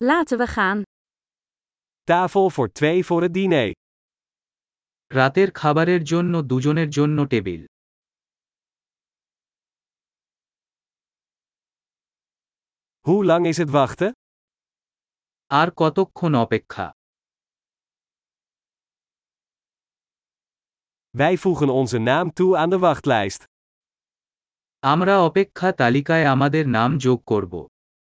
Laten we gaan. Tafel voor 2 voor het diner. রাতের খাবারের জন্য দুজনের জন্য table. Hoe lang is het wachten? আর কতক্ষণ অপেক্ষা? Wij voegen onze naam toe aan de wachtlijst. আমরা অপেক্ষা তালিকায় আমাদের নাম যোগ করব।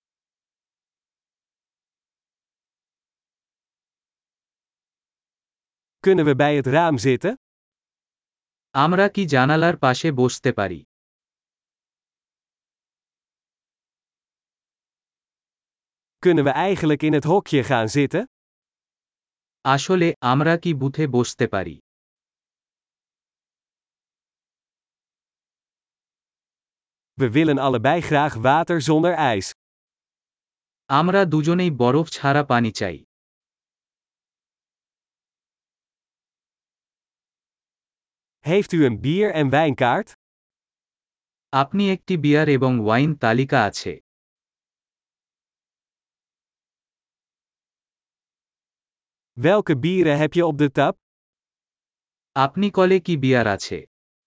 Kunnen we bij het raam zitten? আমরা কি জানালার পাশে বসতে পারি? Kunnen we eigenlijk in het hokje gaan zitten? আসলে আমরা কি বুথে বসতে পারি? We willen allebei graag water zonder ijs. আমরা দুজনেই বরফ ছাড়া পানি চাই। Heeft u een bier- en wijnkaart? আপনি একটি বিয়ার এবং ওয়াইন তালিকা আছে। Welke bieren heb je op de tap? আপনি কলে কি বিয়ার আছে?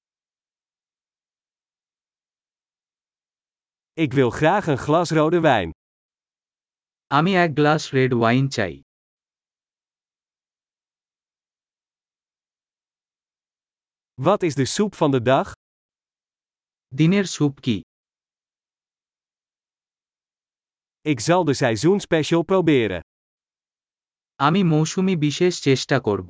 Ik wil graag een glas rode wijn. আমি এক গ্লাস রেড ওয়াইন চাই। Wat is de soep van de dag? দিনের স্যুপ কি? Ik zal de seizoenspecial proberen. আমি মৌসুমী বিশেষ চেষ্টা করব।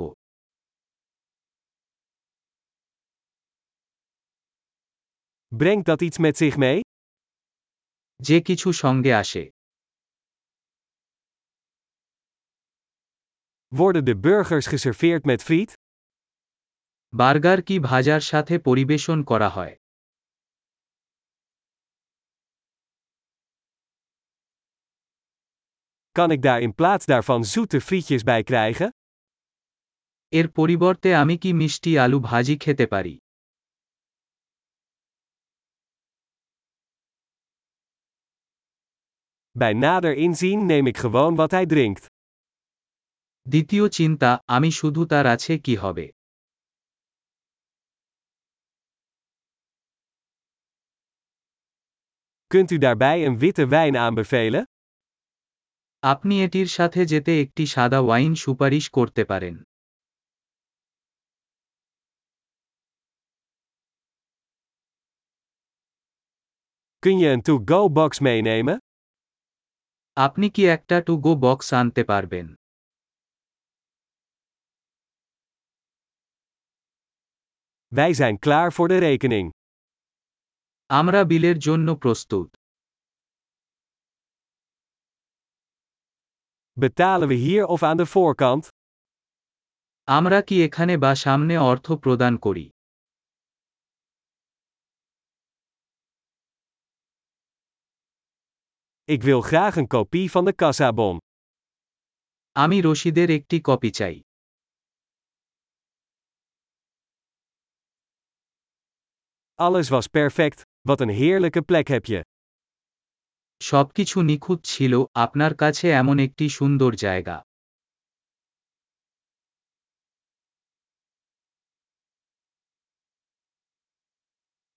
Brengt dat iets met zich mee? যে কিছু সঙ্গে আসে। Worden de burgers geserveerd met friet? Burger কি ভাজার সাথে পরিবেশন করা হয়? Kan ik daar in plaats daarvan zoete frietjes bij krijgen? এর পরিবর্তে আমি কি মিষ্টি আলু ভাজি খেতে পারি? Bij nader inzien neem ik gewoon wat hij drinkt. দ্বিতীয় চিন্তা, আমি শুধু তার আছে কি হবে। Kunt u daarbij een witte wijn aanbevelen? আপনি এটির সাথে যেতে একটি সাদা ওয়াইন সুপারিশ করতে পারেন। Kun je een to-go box meenemen? আপনি কি একটা টু গো বক্স আনতে পারবেন? Wij zijn klaar voor de rekening. আমরা বিলের জন্য প্রস্তুত। Betalen we hier of aan de voorkant? আমরা কি এখানে বা সামনে অর্থ প্রদান করি? Ik wil graag een kopie van de kassabon. আমি রসিদের একটি কপি চাই। Alles was perfect, wat een heerlijke plek heb je. সবকিছু নিখুঁত ছিল, আপনার কাছে এমন একটি সুন্দর জায়গা।